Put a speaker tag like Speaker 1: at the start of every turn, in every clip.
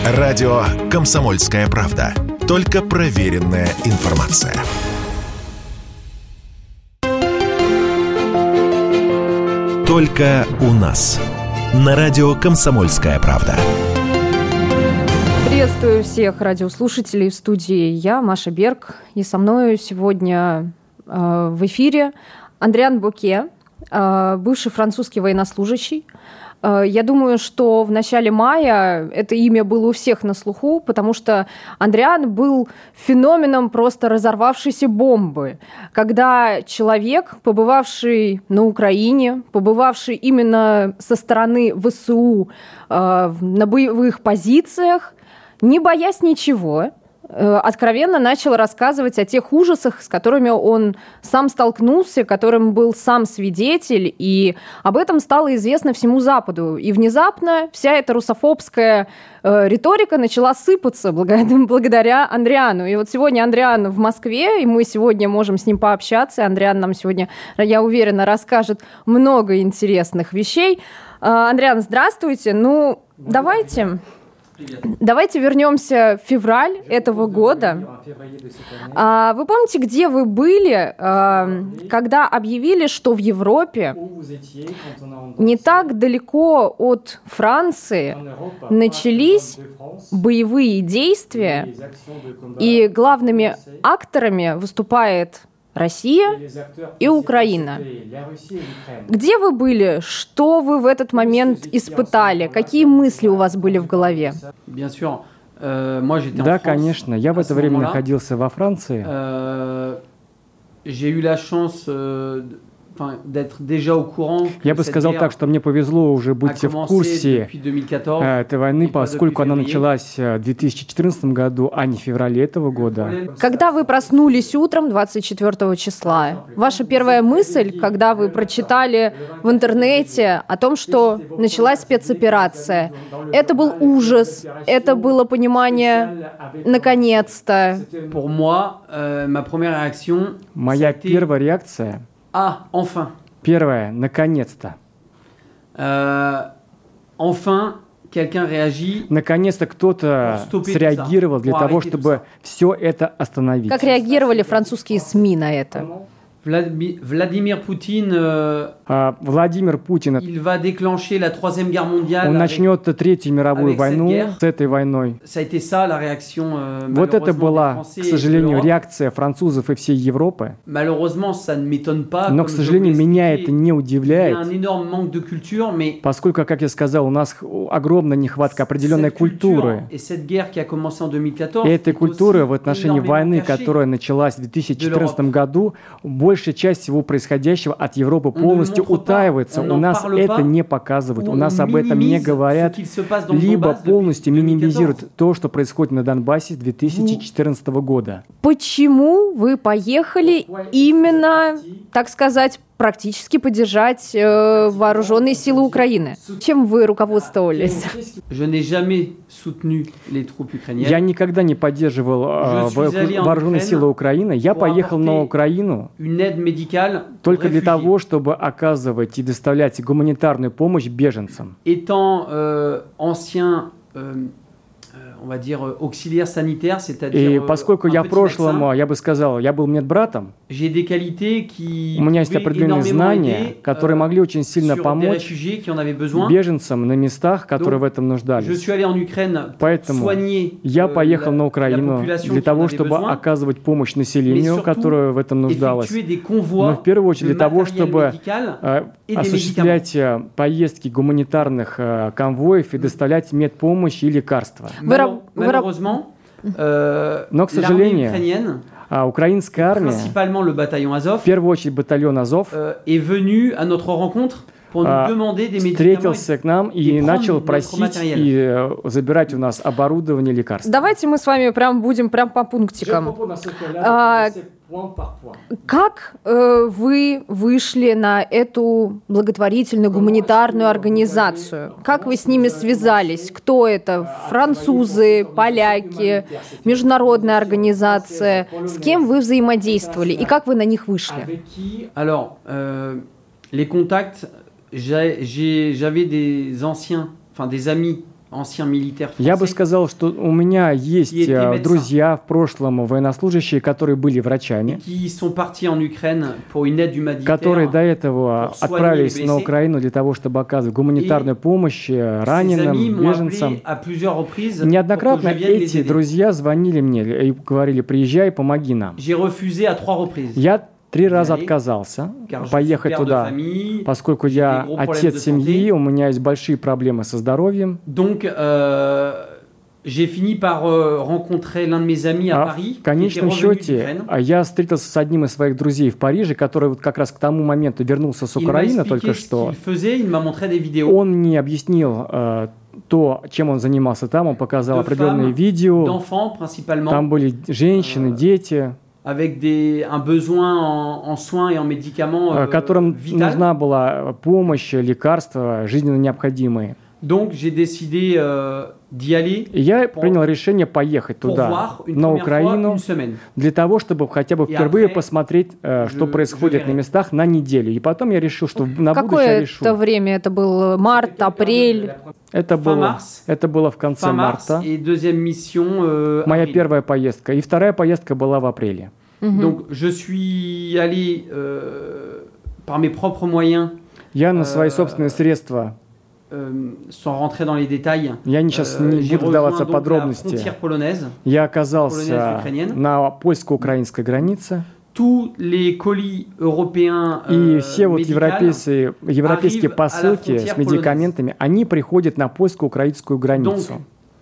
Speaker 1: Радио «Комсомольская правда». Только проверенная информация. Только у нас. На радио «Комсомольская правда».
Speaker 2: Приветствую всех радиослушателей в студии. Я, Маша Берг, и со мной сегодня в эфире Андриан Боке, бывший французский военнослужащий. Я думаю, что в начале мая это имя было у всех на слуху, потому что Андриан был феноменом просто разорвавшейся бомбы. Когда человек, побывавший на Украине, побывавший именно со стороны ВСУ на боевых позициях, не боясь ничего, откровенно начал рассказывать о тех ужасах, с которыми он сам столкнулся, которым был сам свидетель, и об этом стало известно всему Западу. И внезапно вся эта русофобская риторика начала сыпаться благодаря Андриану. И вот сегодня Андриан в Москве, и мы сегодня можем с ним пообщаться. Андриан нам сегодня, я уверена, расскажет много интересных вещей. Андриан, здравствуйте. Давайте вернемся в февраль этого года. Вы помните, где вы были, когда объявили, что в Европе, не так далеко от Франции, начались боевые действия, и главными акторами выступает Россия и Украина. Где вы были? Что вы в этот момент испытали? Какие мысли у вас были в голове?
Speaker 3: Да, конечно. Я в это время находился во Франции. Я бы сказал так, что мне повезло уже быть в курсе этой войны, поскольку она началась в 2014 году, а не в феврале этого года.
Speaker 2: Когда вы проснулись утром 24 числа, ваша первая мысль, когда вы прочитали в интернете о том, что началась спецоперация, это был ужас, это было понимание «наконец-то».
Speaker 3: Моя первая реакция — первое, наконец-то. Наконец-то кто-то среагировал для того, чтобы все это остановить.
Speaker 2: Как реагировали французские СМИ на это?
Speaker 3: Владимир Путин, он начнет Третью мировую войну с этой войной. Вот это была, к сожалению, реакция французов и всей Европы. Но, к сожалению, меня это не удивляет, поскольку, как я сказал, у нас огромная нехватка определенной культуры. И этой культуры в отношении войны, которая началась в 2014 году, большая часть всего происходящего от Европы полностью утаивается. У нас это не показывают, у нас об этом не говорят, либо полностью минимизируют то, что происходит на Донбассе с 2014 года.
Speaker 2: Почему вы поехали именно, так сказать, практически поддержать вооруженные силы Украины? Чем вы руководствовались?
Speaker 3: Я никогда не поддерживал вооруженные силы Украины. Я поехал на Украину только для того, чтобы оказывать и доставлять гуманитарную помощь беженцам. И поскольку я в прошлом, я бы сказал, я был медбратом, у меня есть определенные знания, которые могли очень сильно помочь беженцам на местах, которые в этом нуждались. Поэтому я поехал на Украину для того, чтобы оказывать помощь населению, которое в этом нуждалось. Но в первую очередь для того, чтобы осуществлять поездки гуманитарных конвоев и доставлять медпомощь и лекарства. Но, к сожалению, украинская армия, в первую очередь батальон Азов, встретился к нам и начал просить и забирать у нас оборудование, лекарства.
Speaker 2: Давайте мы с вами будем по пунктикам. Как вы вышли на эту благотворительную гуманитарную организацию? Как вы с ними связались? Кто это? Французы, поляки, международная организация? С кем вы взаимодействовали? И как вы на них вышли?
Speaker 4: J'avais des amis
Speaker 3: Я бы сказал, что у меня есть друзья в прошлом военнослужащие, которые были врачами, которые до этого отправились на Украину для того, чтобы оказывать гуманитарную помощь раненым, беженцам. Неоднократно эти друзья звонили мне и говорили: приезжай, помоги нам. Я 3 раза отказался поехать туда, поскольку я отец семьи, у меня есть большие проблемы со здоровьем. В конечном счете, я встретился с одним из своих друзей в Париже, который вот как раз к тому моменту вернулся с Украины только что. Он мне объяснил то, чем он занимался там, он показал определенные видео. Там были женщины, дети, которым нужна была помощь, лекарства, жизненно необходимые. И я принял решение поехать туда, на Украину, для того, чтобы хотя бы впервые посмотреть, что происходит на местах на неделю. И потом я решил, что на будущее я решу.
Speaker 2: Какое это время? Это был март, апрель?
Speaker 3: Это было в конце марта. Моя первая поездка. И вторая поездка была в апреле. Я на свои собственные средства, я сейчас не буду вдаваться в подробности, я оказался на польско-украинской границе. И все вот европейские посылки с медикаментами, они приходят на польско-украинскую границу.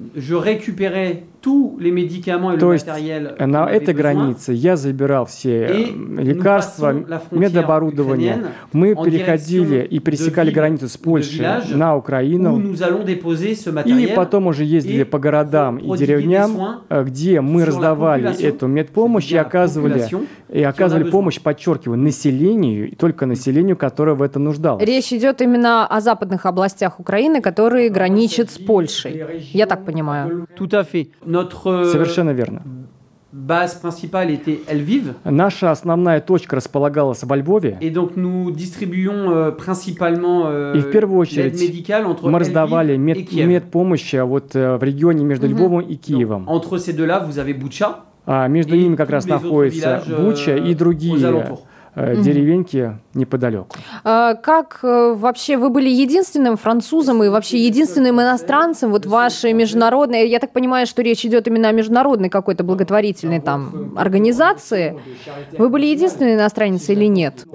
Speaker 3: То есть на этой границе я забирал все лекарства, медоборудование. Мы переходили и пересекали границу с Польшей на Украину. И потом уже ездили по городам и деревням, где мы раздавали эту медпомощь и оказывали помощь, подчеркиваю, населению, и только населению, которое в этом нуждалось.
Speaker 2: Речь идет именно о западных областях Украины, которые граничат с Польшей. Я так понимаю.
Speaker 3: Совершенно верно. Наша основная точка располагалась во Львове. И в первую очередь мы раздавали медпомощь вот в регионе между Львовом и Киевом. Между ними как раз находится Буча и другие деревеньки неподалеку.
Speaker 2: Как вообще вы были единственным французом и вообще единственным иностранцем вот вашей международной, я так понимаю, что речь идет именно о международной какой-то благотворительной там организации. Вы были единственный иностранец или нет?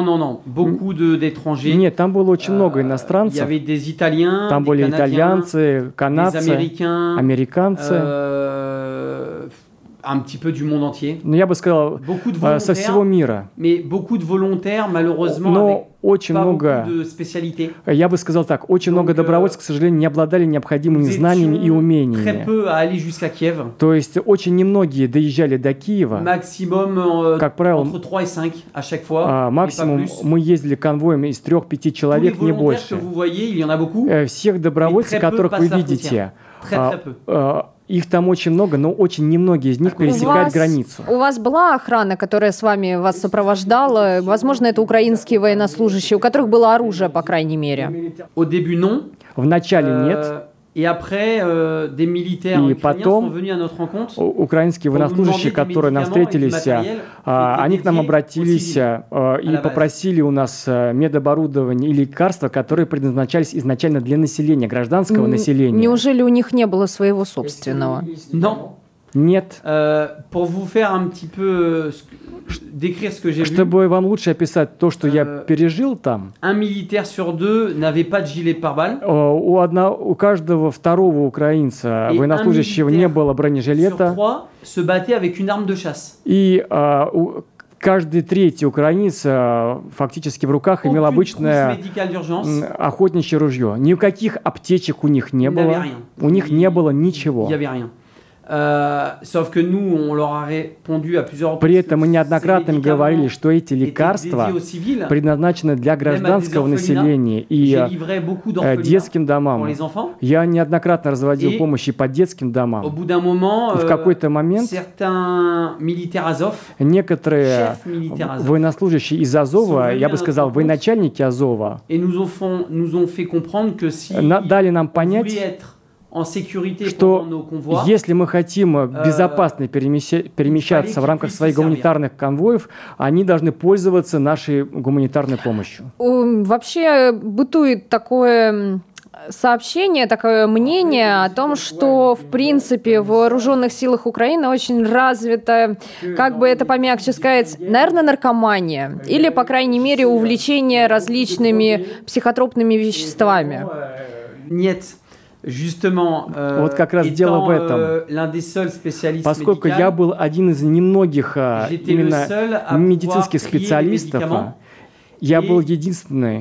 Speaker 3: Нет, там было очень много иностранцев. Там были итальянцы, канадцы, американцы. Но я бы сказал, со всего мира. Но очень много, я бы сказал так, очень много добровольцев, к сожалению, не обладали необходимыми знаниями и умениями. То есть очень немногие доезжали до Киева. Как правило, максимум мы ездили конвоем из 3-5 человек, не больше. Всех добровольцев, которых вы видите, их там очень много, но очень немногие из них пересекают границу.
Speaker 2: У вас была охрана, которая с вами вас сопровождала? Возможно, это украинские военнослужащие, у которых было оружие, по крайней мере.
Speaker 3: В начале нет. И потом украинские военнослужащие, которые нам встретились, они к нам обратились и попросили у нас медоборудование и лекарства, которые предназначались изначально для населения, гражданского населения.
Speaker 2: Неужели у них не было своего собственного?
Speaker 3: Нет. Чтобы вам лучше описать то, что я пережил там, у каждого второго украинца, военнослужащего, не было бронежилета, и каждый третий украинец фактически в руках имел обычное охотничье ружье. Никаких аптечек у них не было, у них не было ничего. При этом мы неоднократно им говорили, что эти лекарства предназначены для гражданского населения и детским домам. Я неоднократно разводил помощь и по детским домам. В какой-то момент некоторые военнослужащие из Азова, я бы сказал, военачальники Азова, дали нам понять, что если мы хотим безопасно перемещаться в рамках своих гуманитарных конвоев, они должны пользоваться нашей гуманитарной помощью.
Speaker 2: Вообще бытует такое сообщение, такое мнение о том, что, в принципе, в вооруженных силах Украины очень развита, как бы это помягче сказать, наверное, наркомания или, по крайней мере, увлечение различными психотропными веществами.
Speaker 4: Нет.
Speaker 3: Вот как раз дело в этом. Поскольку я был один из немногих именно медицинских специалистов, я был единственный,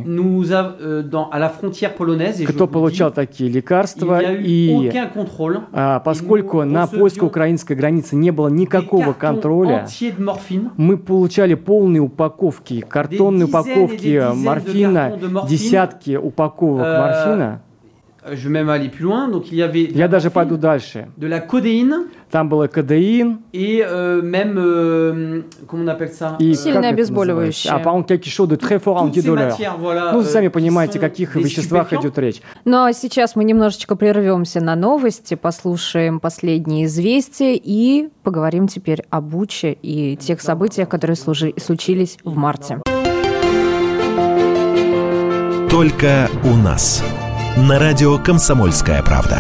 Speaker 3: кто получал такие лекарства, и поскольку на польско-украинской границе не было никакого контроля, мы получали полные упаковки, картонные упаковки морфина, десятки упаковок морфина. Я даже пойду дальше. Там был кодеин.
Speaker 4: И
Speaker 2: сильное обезболивающее.
Speaker 3: А по-моему, quelque chose de très fort антидолeur. Ну, сами понимаете, о каких веществах идет речь.
Speaker 2: Ну, а сейчас мы немножечко прервемся на новости, послушаем последние известия и поговорим теперь о Буче и тех событиях, которые случились в марте.
Speaker 1: Только у нас. На радио «Комсомольская правда».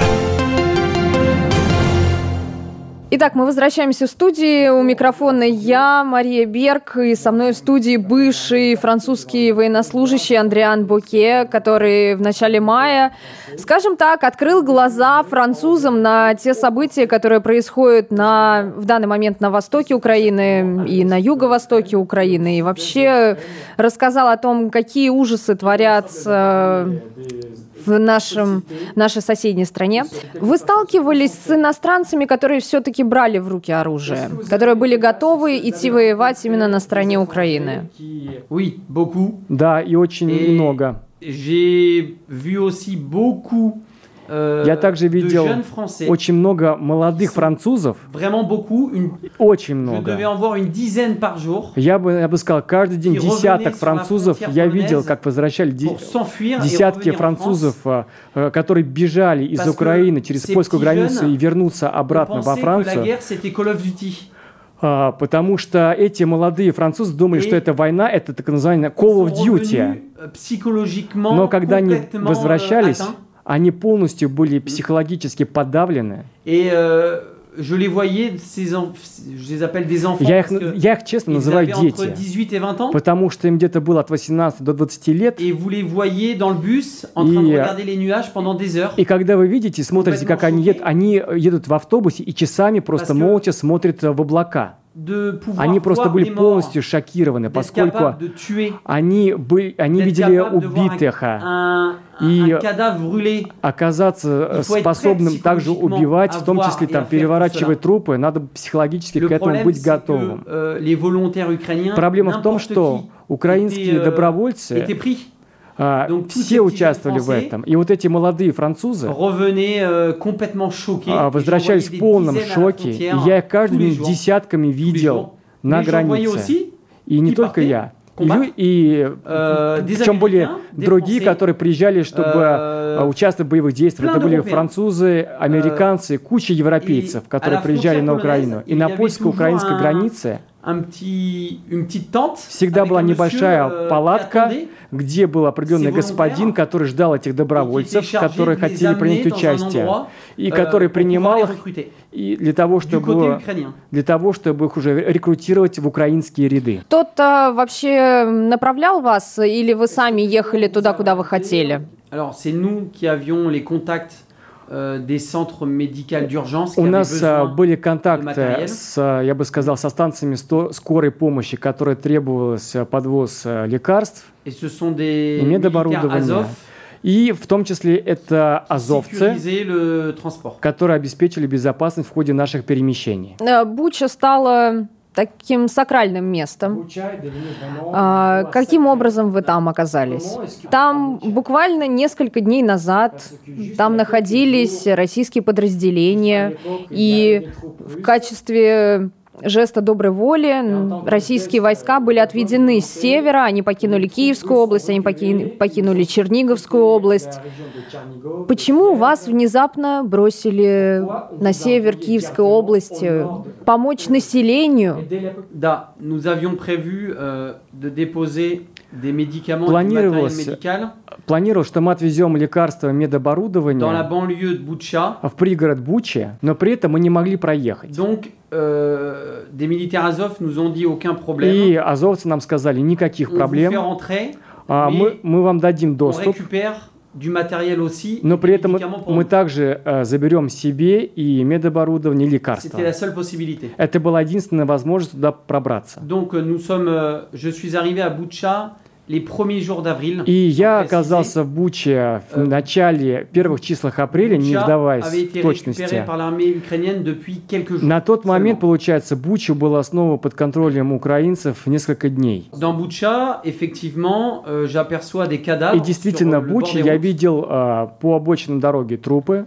Speaker 2: Итак, мы возвращаемся в студию. У микрофона я, Мария Берг, и со мной в студии бывший французский военнослужащий Андриан Боке, который в начале мая, скажем так, открыл глаза французам на те события, которые происходят в данный момент на востоке Украины и на юго-востоке Украины, и вообще рассказал о том, какие ужасы творятся в нашей соседней стране. Вы сталкивались с иностранцами, которые все-таки брали в руки оружие, которые были готовы идти воевать именно на стороне Украины?
Speaker 4: Oui, beaucoup.
Speaker 3: Да, и очень много.
Speaker 4: J'ai vu aussi beaucoup.
Speaker 3: Я также видел очень много молодых французов. Очень много. Я бы сказал, каждый день десяток французов я видел, как возвращали десятки французов, которые бежали из Украины через польскую границу и вернуться обратно во Францию. Потому что эти молодые французы думали, что эта война, это так называемая Call of Duty. Но когда они возвращались, они полностью были психологически подавлены. Я их честно называю дети, потому что им где-то было от 18 до 20 лет. И когда вы видите, смотрите, как они едут в автобусе и часами просто молча смотрят в облака. Они просто были полностью шокированы, поскольку они видели убитых, и оказаться способным также убивать, в том числе там, переворачивать трупы, надо психологически к этому быть готовым. Проблема в том, что украинские добровольцы все участвовали в этом. И вот эти молодые французы возвращались в полном шоке. И я их каждый день десятками видел на границе. И не только я. И причем были другие, которые приезжали, чтобы участвовать в боевых действиях. Это были французы, американцы, куча европейцев, которые приезжали на Украину. И на польско-украинской границе всегда была небольшая палатка, где был определенный господин, который ждал этих добровольцев, которые хотели принять участие, и который принимал их для того, чтобы их уже рекрутировать в украинские ряды.
Speaker 2: Кто-то вообще направлял вас, или вы сами ехали туда, куда вы хотели?
Speaker 3: У нас были контакты я бы сказал, со станциями скорой помощи, которые требовалось подвоз лекарств и медоборудования. И в том числе это азовцы, которые обеспечили безопасность в ходе наших перемещений.
Speaker 2: Буча стала таким сакральным местом. Каким образом вы там оказались? Там буквально несколько дней назад там находились российские подразделения, и в качестве жеста доброй воли российские войска были отведены с севера, они покинули Киевскую область, они покинули Черниговскую область. Почему вас внезапно бросили на север Киевской области? Помочь населению?
Speaker 4: Да, nous avions prévu de déposer des médicaments et du matériel médical.
Speaker 3: Планировал, что мы отвезем лекарства, медоборудование
Speaker 4: dans la banlieue de Boutcha.
Speaker 3: В пригород Бучи, но при этом мы не могли проехать.
Speaker 4: Donc, des militaires Azov nous ont dit aucun problème.
Speaker 3: И азовцы нам сказали, никаких проблем.
Speaker 4: On vous fait
Speaker 3: rentrer, мы вам дадим доступ.
Speaker 4: On récupère du matériel aussi,
Speaker 3: но при этом мы также заберем себе и медоборудование, и лекарства.
Speaker 4: C'était la seule possibilité.
Speaker 3: Это была единственная возможность туда пробраться.
Speaker 4: Donc, je suis arrivé à Boutcha les premiers jours d'avril.
Speaker 3: И я оказался в Буче в начале первых числах апреля, не вдаваясь в точности. На тот момент, получается, Буча была снова под контролем украинцев несколько дней. И действительно, в Буче я видел по обочинам дороги трупы.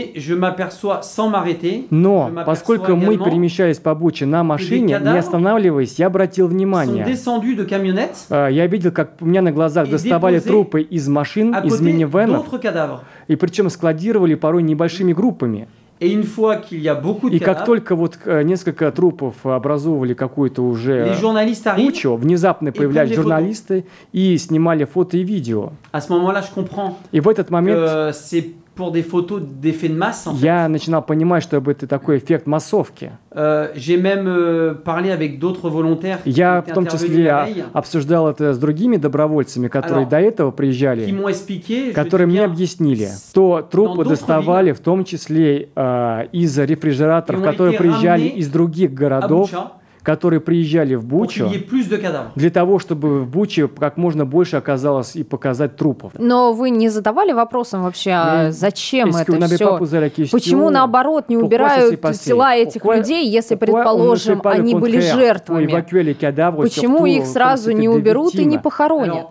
Speaker 3: Но поскольку мы перемещались по Буче на машине, не останавливаясь, я обратил внимание. Я видел, как у меня на глазах доставали трупы из машин, из минивенов, и причем складировали порой небольшими группами. И как только вот несколько трупов образовывали какую-то уже кучу, внезапно появлялись журналисты и снимали фото и видео. И в этот момент
Speaker 4: pour des photos d'effet de masse, en fait.
Speaker 3: Я начинал понимать, что это такой эффект массовки.
Speaker 4: J'ai même parlé avec d'autres volontaires.
Speaker 3: Я в том числе обсуждал это с другими добровольцами, которые до этого приезжали, которые мне объяснили, что трупы доставали в том числе из рефрижераторов, которые приезжали из других городов, которые приезжали в Бучу, для того, чтобы в Буче как можно больше оказалось и показать трупов.
Speaker 2: Но вы не задавали вопросом вообще, зачем это все? Почему, наоборот, не убирают тела этих людей, если, предположим, они были жертвами? Почему их сразу не уберут и не похоронят?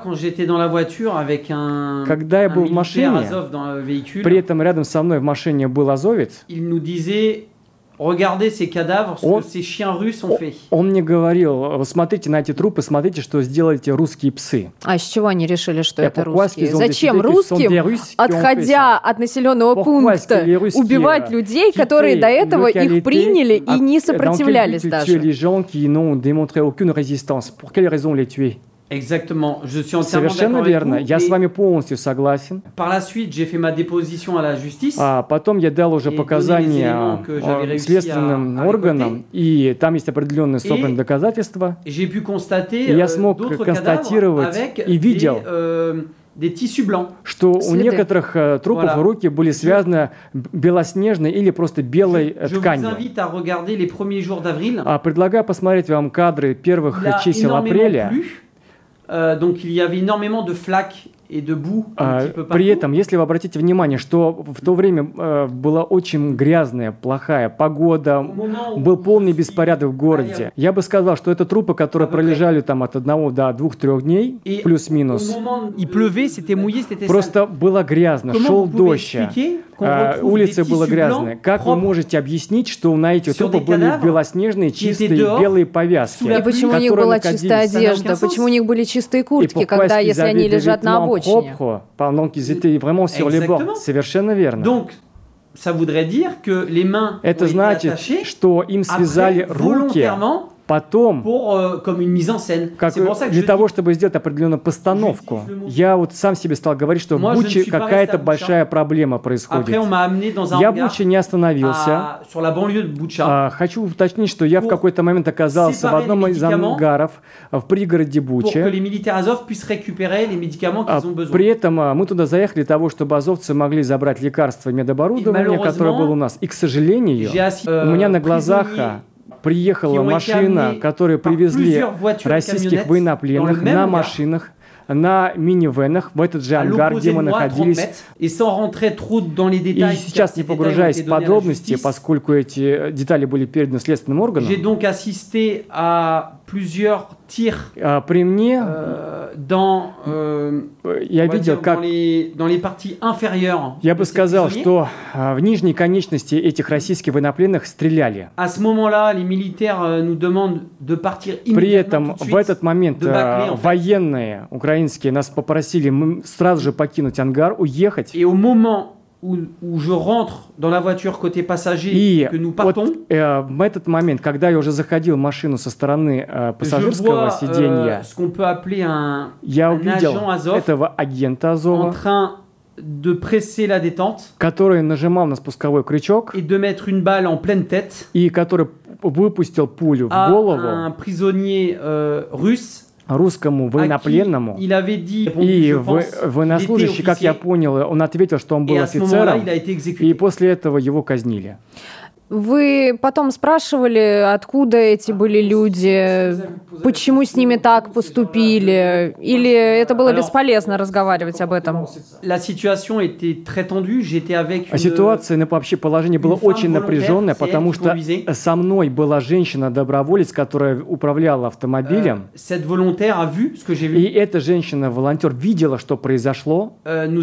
Speaker 3: Когда я был в машине, при этом рядом со мной в машине был азовец,
Speaker 4: Regardez ces cadavres, ce que ces chiens russes ont fait.
Speaker 3: Он мне говорил, смотрите на эти трупы, смотрите, что сделали эти русские псы.
Speaker 2: А с чего они решили, что это русские? Зачем русским, отходя от населенного пункта, убивать людей, которые до этого их приняли и не сопротивлялись даже?
Speaker 3: Les gens qui n'ont démontré aucune résistance. Pour quelles raisons les tuer?
Speaker 4: Exactement, je suis entièrement
Speaker 3: Совершенно верно. Я с вами полностью согласен.
Speaker 4: Par la suite, j'ai fait ma déposition à la justice.
Speaker 3: Потом я дал уже показания следственным органам, и там есть определенные собранные доказательства.
Speaker 4: J'ai pu constater
Speaker 3: я смог констатировать и видел, что у некоторых трупов руки были связаны белоснежной или просто белой тканью. Предлагаю посмотреть вам кадры первых чисел апреля.
Speaker 4: Donc il y avait énormément de flaques et de boue.
Speaker 3: При этом, если вы обратите внимание, что в то время была очень грязная, плохая погода, был полный беспорядок в городе. Я бы сказал, что это трупы, которые пролежали там от 1 до 2-3 дней, плюс-минус. Просто было грязно, шел дождь, улица была грязная. Как вы можете объяснить, что на эти трупы были белоснежные, чистые, белые повязки?
Speaker 2: И почему у них была чистая одежда? Почему у них были чистые куртки, когда, если они лежат на обочине?
Speaker 3: Pendant qu'ils étaient vraiment sur les bords. Совершенно верно.
Speaker 4: Donc, ça voudrait dire que les mains
Speaker 3: это значит, что им связали руки потом,
Speaker 4: comme une mise en scène.
Speaker 3: Для того, чтобы сделать определенную постановку. Я вот сам себе стал говорить, что в Буче какая-то большая проблема происходит. Я в Буче не остановился. Хочу уточнить, что я в какой-то момент оказался в одном из ангаров в пригороде Буче. При этом мы туда заехали для того, чтобы азовцы могли забрать лекарства и медоборудование, которое было у нас. И, к сожалению, у меня на глазах приехала машина, которую привезли российских военнопленных на машинах, на минивенах, в этот же ангар, где мы находились. И сейчас, не погружаясь в подробности, поскольку эти детали были переданы следственным органам,
Speaker 4: plusieurs tirs
Speaker 3: при мне
Speaker 4: я видел, как dans les parties inférieures.
Speaker 3: Я бы сказал, что в нижней конечности этих российских военнопленных стреляли.
Speaker 4: À ce moment-là, les militaires nous demandent de partir immédiatement.
Speaker 3: При этом в этот момент военные украинские нас попросили сразу же покинуть ангар, уехать.
Speaker 4: Et au moment où je rentre dans la voiture côté passager et que nous partons,
Speaker 3: в этот момент, когда я уже заходил в машину со стороны пассажирского сиденья, я увидел этого агента Азова,
Speaker 4: de presser la détente,
Speaker 3: который нажимал на спусковой крючок
Speaker 4: et de mettre une balle en pleine tête,
Speaker 3: и который выпустил пулю в голову
Speaker 4: un prisonnier russe,
Speaker 3: русскому военнопленному, и военнослужащий, как я понял, он ответил, что он был офицером, и после этого его казнили.
Speaker 2: Вы потом спрашивали, откуда эти были люди, почему с ними так поступили, или это было бесполезно разговаривать об этом?
Speaker 3: Ситуация, вообще положение было очень напряженное, потому что со мной была женщина-доброволец, которая управляла автомобилем. И эта женщина-волонтер видела, что произошло. И,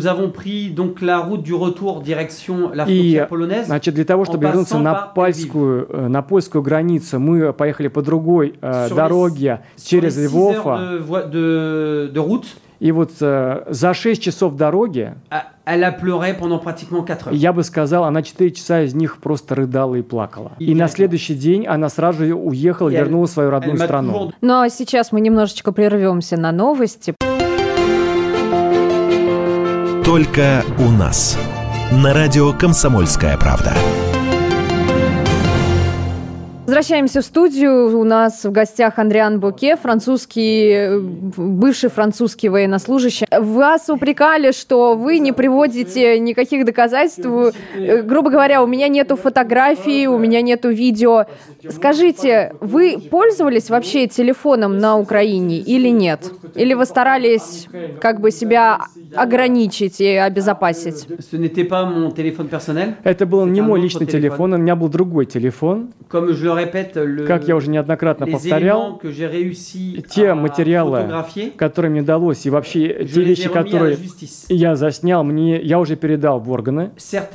Speaker 3: значит, для того, чтобы вернуться на польскую границу, мы поехали по другой дороге через Львов. И вот за 6 часов дороги, я бы сказал, она 4 часа из них просто рыдала и плакала. И на следующий день она сразу же уехала и вернулась в свою родную страну.
Speaker 2: Ну а сейчас мы немножечко прервемся на новости.
Speaker 1: Только у нас. На радио «Комсомольская правда».
Speaker 2: Возвращаемся в студию. У нас в гостях Андриан Боке, бывший французский военнослужащий. Вас упрекали, что вы не приводите никаких доказательств. Грубо говоря, у меня нету фотографий, у меня нету видео. Скажите, вы пользовались вообще телефоном на Украине или нет? Или вы старались как бы себя ограничить и обезопасить?
Speaker 3: Это был не мой личный телефон, у меня был другой телефон. Как я уже неоднократно повторял, те материалы, которые мне удалось, и вообще те вещи, которые я заснял, я уже передал в органы.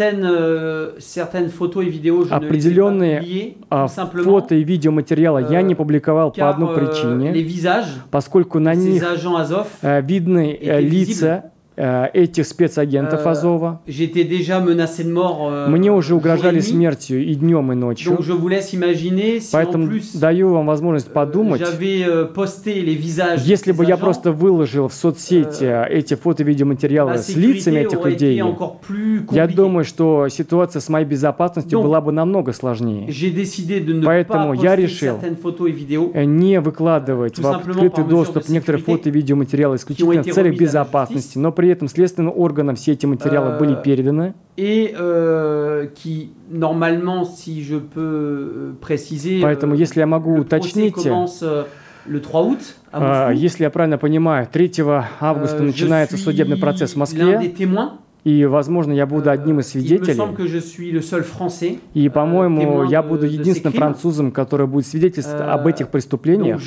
Speaker 3: Определенные фото и видеоматериалы я не публиковал по одной причине, поскольку на них видны лица этих спецагентов Азова. Мне уже угрожали смертью и днем, и ночью. Поэтому даю вам возможность подумать, если бы я просто выложил в соцсети эти фото-видеоматериалы с лицами этих людей, я думаю, что ситуация с моей безопасностью была бы намного сложнее. Поэтому я решил не выкладывать в открытый доступ некоторые фото- и видеоматериалы исключительно в целях безопасности, но при этом следственным органам все эти материалы были переданы. Поэтому, если я могу уточнить, если я правильно понимаю, 3 августа начинается судебный процесс в Москве. И, возможно, я буду одним из свидетелей. И, по-моему, я буду единственным французом, который будет свидетельствовать об этих преступлениях.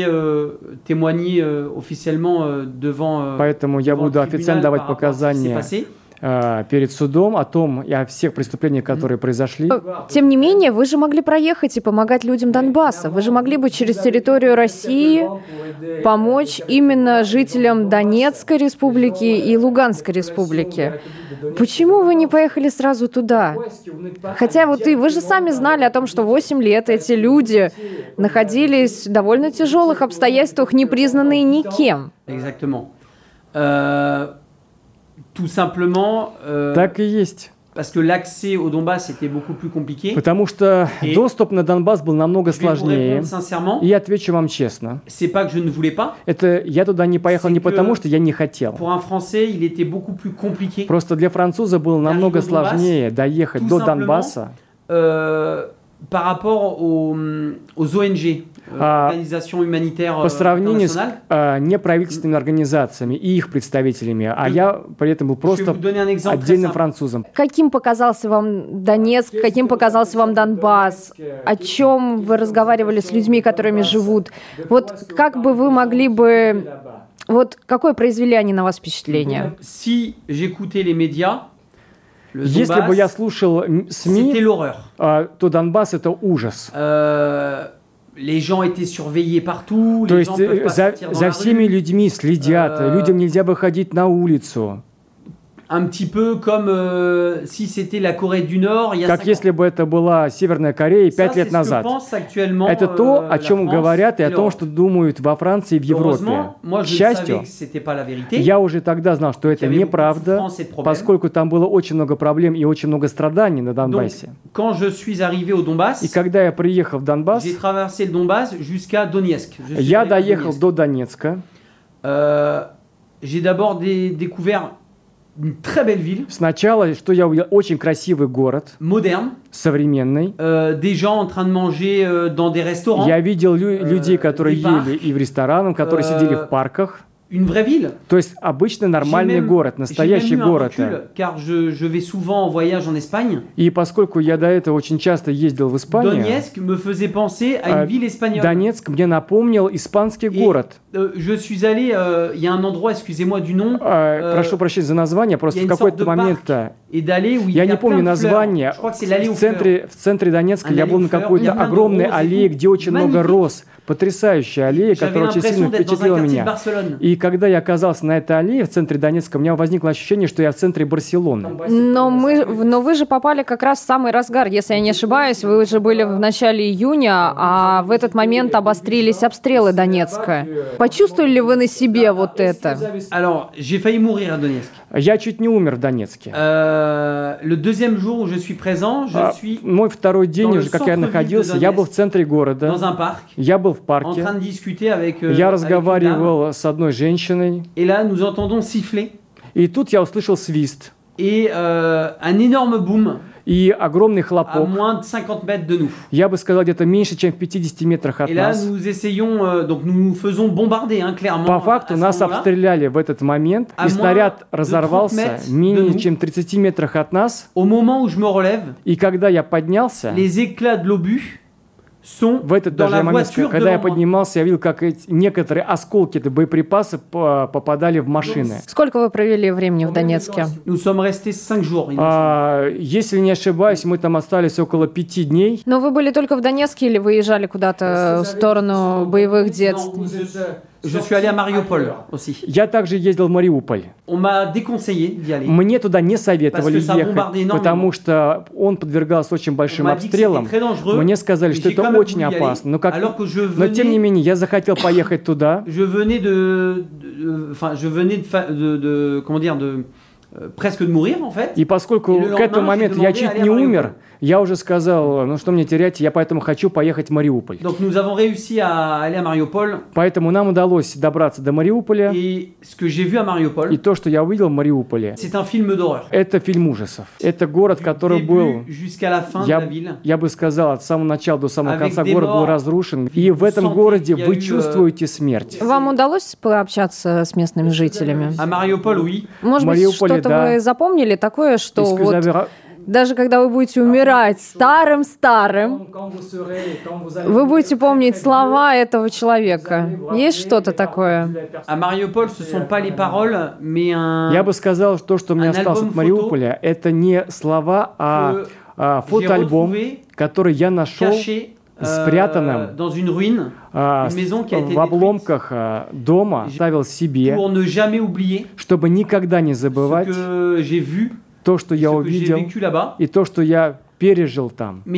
Speaker 3: Поэтому я буду официально давать показания перед судом о всех преступлениях, которые произошли.
Speaker 2: Тем не менее, вы же могли проехать и помогать людям Донбасса. Вы же могли бы через территорию России помочь именно жителям Донецкой республики и Луганской республики. Почему вы не поехали сразу туда? Хотя вы же сами знали о том, что 8 лет эти люди находились в довольно тяжелых обстоятельствах, не признанные никем.
Speaker 3: Так и есть. Потому что доступ на Донбасс был намного сложнее. И я отвечу вам честно. Я туда не поехал не потому, что я не хотел. Просто для француза было намного сложнее доехать до Донбасса.
Speaker 4: par rapport aux ONG, организациям humanitaires
Speaker 3: по сравнению с неправительственными организациями и их представителями, а я при этом был просто отдельным французом.
Speaker 2: Каким показался вам Донецк, каким показался вам Донбасс? О чем вы разговаривали с людьми, которыми живут? Вот как бы вы могли бы... Вот какое произвели они на вас впечатление?
Speaker 4: Si j'écoutais les médias,
Speaker 3: если бы я слушал СМИ, то Донбасс — это ужас.
Speaker 4: Les gens étaient surveillés partout.
Speaker 3: То есть за всеми людьми следят, людям нельзя выходить на улицу.
Speaker 4: Un petit peu comme si c'était la Corée du Nord il y a 5 ans.
Speaker 3: Как если бы это была Северная Корея 5 лет назад. Это то, о чем говорят и о том, что думают во Франции и в Европе. К счастью, я уже тогда знал, что это неправда, поскольку там было очень много проблем и очень много страданий на Донбассе. И когда я приехал в Донбасс, я доехал до Донецка.
Speaker 4: J'ai d'abord découvert une très belle ville.
Speaker 3: Сначала, что я увидел, очень красивый город.
Speaker 4: Moderne.
Speaker 3: Современный.
Speaker 4: Des gens en train de manger dans des restaurants.
Speaker 3: Я видел людей, которые ели и в ресторанах, которые сидели в парках.
Speaker 4: Une vraie ville.
Speaker 3: То есть обычный нормальный город, настоящий город.
Speaker 4: Car je vais souvent en voyage en Espagne.
Speaker 3: И поскольку я до этого очень часто ездил в Испанию,
Speaker 4: Donetsk me faisait penser à une ville espagnole.
Speaker 3: Донецк мне напомнил испанский город.
Speaker 4: Je suis allé, il y a un endroit, excusez-moi du nom.
Speaker 3: Прошу прощения за название, просто в какой-то момент я не помню название. В центре Донецка я был на какой-то огромной аллее, где очень много роз. Потрясающая аллея, которая очень сильно впечатлила меня. И когда я оказался на этой аллее в центре Донецка, у меня возникло ощущение, что я в центре Барселоны.
Speaker 2: Но вы же попали как раз в самый разгар, если я не ошибаюсь. Вы уже были в начале июня, а в этот момент обострились обстрелы Донецка. Почувствовали ли вы на себе вот это?
Speaker 4: Alors, j'ai failli mourir à Donetsk.
Speaker 3: Я чуть не умер в Донецке.
Speaker 4: Le deuxième jour où je suis présent, je suis
Speaker 3: мой второй день уже, как я находился, я был в центре города.
Speaker 4: Dans un parc.
Speaker 3: Я был в парке.
Speaker 4: En train de discuter avec,
Speaker 3: я разговаривал с одной женщиной.
Speaker 4: Et là, nous entendons siffler.
Speaker 3: И тут я услышал свист.
Speaker 4: Et un énorme boom.
Speaker 3: И огромный хлопок.
Speaker 4: À moins de 50 mètres de nous.
Speaker 3: Я бы сказал, где-то меньше, чем в 50 метрах от нас.
Speaker 4: Et là, nous essayons, donc nous nous faisons bombarder, clairement.
Speaker 3: По факту нас обстреляли в этот момент, и снаряд разорвался менее чем в 30 метрах от нас.
Speaker 4: Au moment où je me relève,
Speaker 3: и когда я поднялся,
Speaker 4: les éclats de l'obus
Speaker 3: в этот даже момент, когда я поднимался, я видел, как некоторые осколки боеприпасов попадали в машины.
Speaker 2: Сколько вы провели времени в Донецке?
Speaker 3: Если не ошибаюсь, мы там остались около 5 дней.
Speaker 2: Но вы были только в Донецке или выезжали куда-то в сторону боевых действий?
Speaker 4: Je suis allé à Mariupol aussi.
Speaker 3: Я также ездил в Мариуполь.
Speaker 4: On m'a déconseillé d'y aller.
Speaker 3: Мне туда не советовали ехать, потому что он подвергался очень большим обстрелам. Мне сказали, что это очень опасно. Но тем не менее, я захотел поехать туда.
Speaker 4: Je venais presque de mourir, en fait.
Speaker 3: И поскольку к этому моменту я чуть не умер, я уже сказал, ну что мне терять, я поэтому хочу поехать в Мариуполь.
Speaker 4: Donc nous avons réussi à aller à Mariupol.
Speaker 3: Поэтому нам удалось добраться до Мариуполя.
Speaker 4: Et ce que j'ai vu à Mariupol.
Speaker 3: И то, что я увидел в Мариуполе.
Speaker 4: C'est un film d'horreur.
Speaker 3: Это фильм ужасов. Это город, который был,
Speaker 4: jusqu'à la fin de la ville.
Speaker 3: Я бы сказал, от самого начала до самого конца город был разрушен. И в этом городе вы чувствуете смерть.
Speaker 2: Вам удалось пообщаться с местными жителями?
Speaker 4: À Mariupol, oui.
Speaker 2: Может быть, что-то вы запомнили такое, что вот даже когда вы будете умирать старым-старым, вы будете помнить слова этого человека. Есть что-то такое?
Speaker 3: Я бы сказал, что у меня осталось от Мариуполя, это не слова, а фотоальбом, который я нашел спрятанным в обломках дома, ставил себе, чтобы никогда не забывать то, что я увидел, и то, что я пережил там. Но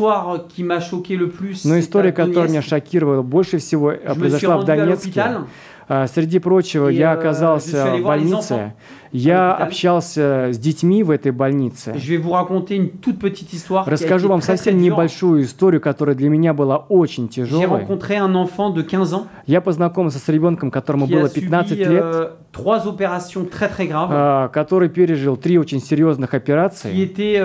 Speaker 3: история, которая меня шокировала больше всего, произошла в Донецке. Среди прочего, я оказался в больнице, Я общался с детьми в этой больнице. Расскажу вам совсем небольшую историю, которая для меня была очень тяжелой. Я познакомился с ребенком, которому было 15 лет, который пережил 3 очень серьезных операции,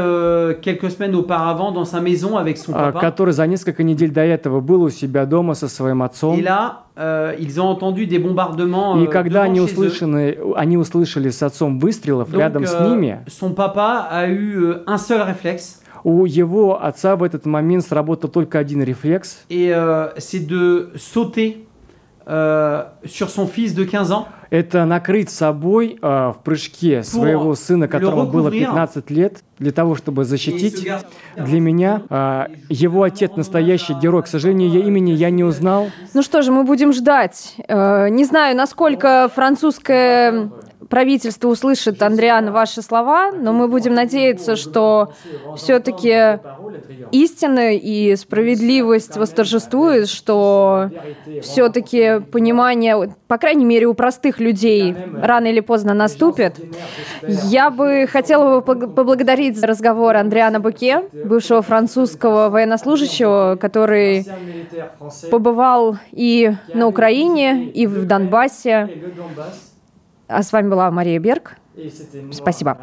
Speaker 3: который за несколько недель до этого был у себя дома со своим отцом.
Speaker 4: Ils ont entendu des bombardements.
Speaker 3: И когда они услышали с отцом выстрелов рядом с ними,
Speaker 4: son papa a eu un seul réflexe.
Speaker 3: У его отца в этот момент сработал только один рефлекс.
Speaker 4: Et c'est de sauter sur son fils de 15 ans.
Speaker 3: Это накрыть собой в прыжке своего сына, которому было 15 лет, для того, чтобы защитить. Для меня его отец настоящий герой. К сожалению, имени я не узнал.
Speaker 2: Ну что же, мы будем ждать. Не знаю, насколько французское правительство услышит, Андриан, ваши слова, но мы будем надеяться, что все-таки истина и справедливость восторжествует, что все-таки понимание, по крайней мере, у простых людей рано или поздно наступит. Я бы хотела поблагодарить за разговор Андриана Боке, бывшего французского военнослужащего, который побывал и на Украине, и в Донбассе. А с вами была Мария Берг. Спасибо.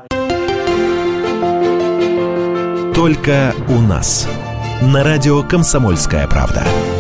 Speaker 1: Только у нас. На радио «Комсомольская правда».